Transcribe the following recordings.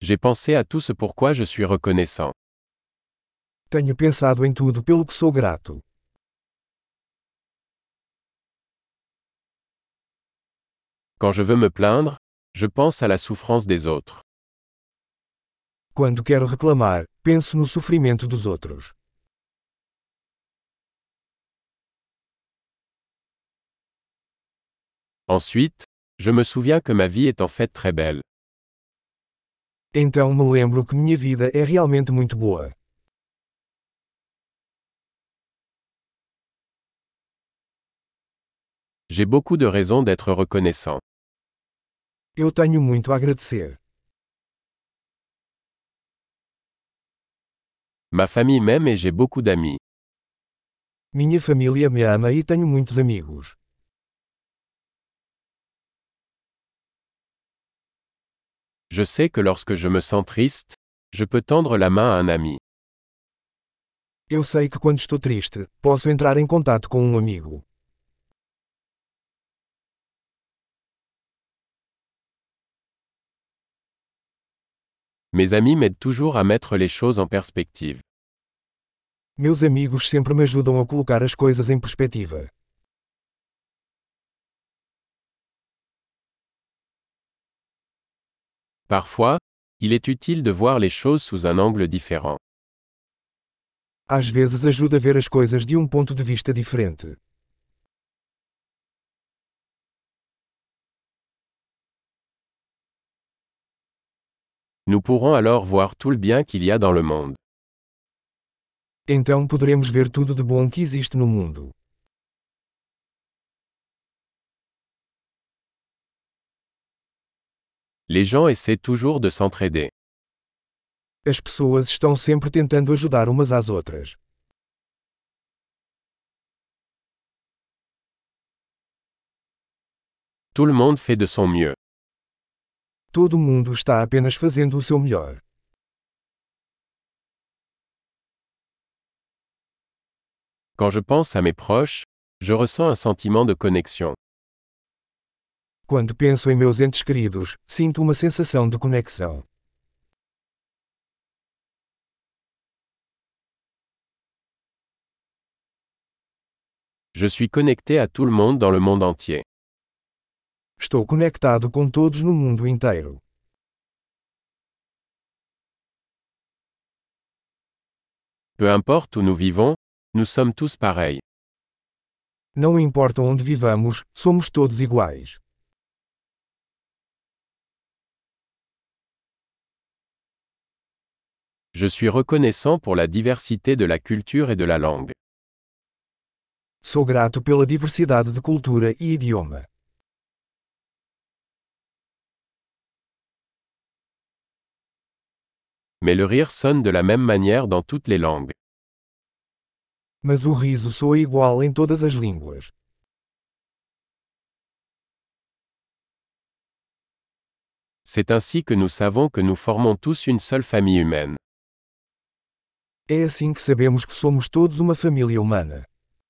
J'ai pensé à tout ce pourquoi je suis reconnaissant. Tenho pensado em tudo pelo que sou grato. Quand je veux me plaindre, je pense à la souffrance des autres. Quando quero reclamar, penso no sofrimento dos outros. Ensuite, je me souviens que ma vie est en fait très belle. Então me lembro que minha vida é realmente muito boa. J'ai beaucoup de raisons d'être reconnaissant. Eu tenho muito a agradecer. Ma famille m'aime et j'ai beaucoup d'amis. Minha família me ama e tenho muitos amigos. Je sais que lorsque je me sens triste, je peux tendre la main à un ami. Eu sei que quando estou triste, posso entrar em contato com um amigo. Mes amis m'aident toujours à mettre les choses en perspective. Meus amigos sempre me ajudam a colocar as coisas em perspectiva. Parfois, il est utile de voir les choses sous un angle différent. Às vezes ajuda a ver as coisas de um ponto de vista diferente. Nous pourrons alors voir tout le bien qu'il y a dans le monde. Então poderemos ver tudo de bom que existe no mundo. Les gens essaient toujours de s'entraider. As pessoas estão sempre tentando ajudar umas às outras. Tout le monde fait de son mieux. Todo mundo está apenas fazendo o seu melhor. Quand je pense à mes proches, je ressens un sentiment de connexion. Quando penso em meus entes queridos, sinto uma sensação de conexão. Je suis connecté à tout le monde dans le monde entier. Estou conectado com todos no mundo inteiro. Peu importe où nous vivons, nous sommes tous pareils. Não importa onde vivamos, somos todos iguais. Je suis reconnaissant pour la diversité de la culture et de la langue. Sou grato pela diversidade de cultura e idioma. Mais le rire sonne de la même manière dans toutes les langues. Mas o riso soa igual em todas as línguas. C'est ainsi que nous savons que nous formons tous une seule famille humaine. É assim que sabemos que somos todos uma família humana.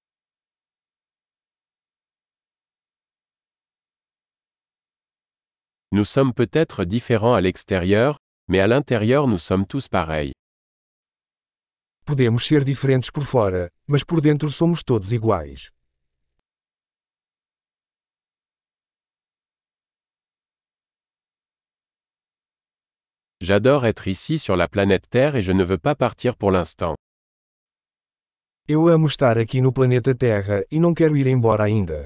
Nous sommes peut-être différents à l'extérieur, mais à l'intérieur nous sommes tous pareils. Podemos ser diferentes por fora, mas por dentro somos todos iguais. J'adore être ici sur la planète Terre et je ne veux pas partir pour l'instant. Eu amo estar aqui no planeta Terra e não quero ir embora ainda.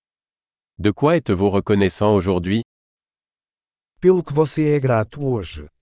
De quoi êtes-vous reconnaissant aujourd'hui? Pelo que você é grato hoje.